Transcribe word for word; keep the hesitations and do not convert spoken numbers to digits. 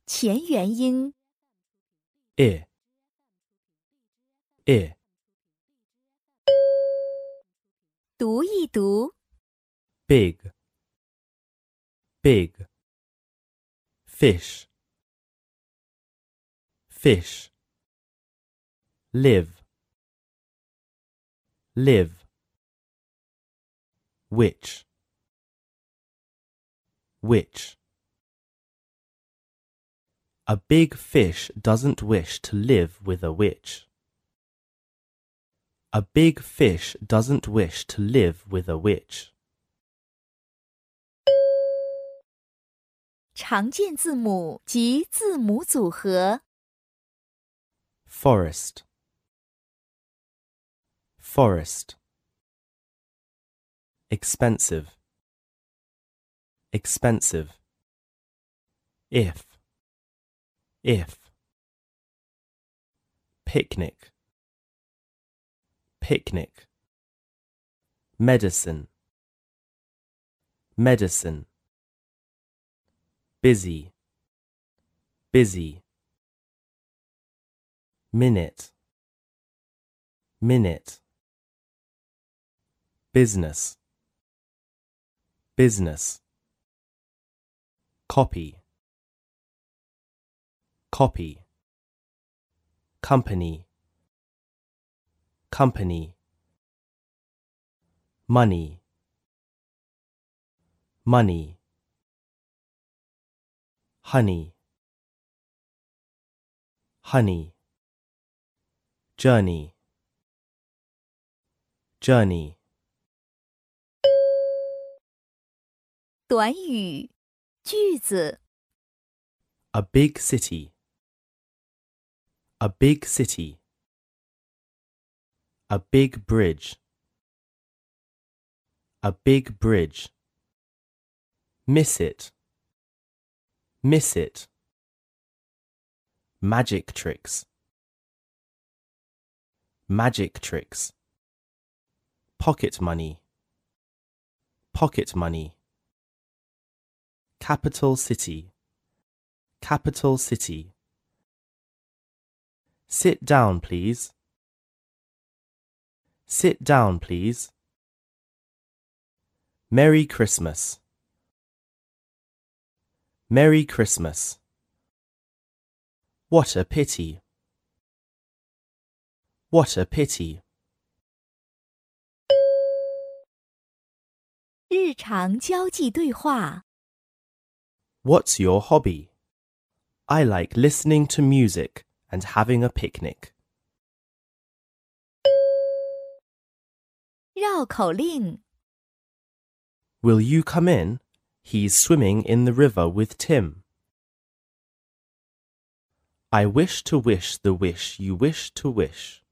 前元音 ear, ear, 读一读 big, big, fish, fish, live, live, which, which. A big fish doesn't wish to live with a witch. A big fish doesn't wish to live with a witch. 常见字母及字母组合 Forest, forest. Expensive, expensive. If, if. Picnic, picnic. Medicine, medicine. Busy, busy. Minute, minute. Business, business. Copy, copy. Company, company. Money, money. Honey, honey. Journey, journey. 短语句子 A big city, a big city. A big bridge, a big bridge. Miss it, miss it. Magic tricks, magic tricks. Pocket money, pocket money. Capital city, capital city. Sit down, please. Sit down, please. Merry Christmas, Merry Christmas. What a pity, what a pity. 日常交际对话 What's your hobby? I like listening to music and having a picnic. 绕口令 Will you come in? He's swimming in the river with Tim. I wish to wish the wish you wish to wish.